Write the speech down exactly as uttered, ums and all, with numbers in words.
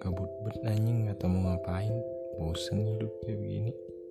Gabut bet anjing, gak tau mau ngapain. Bosen hidup kayak begini.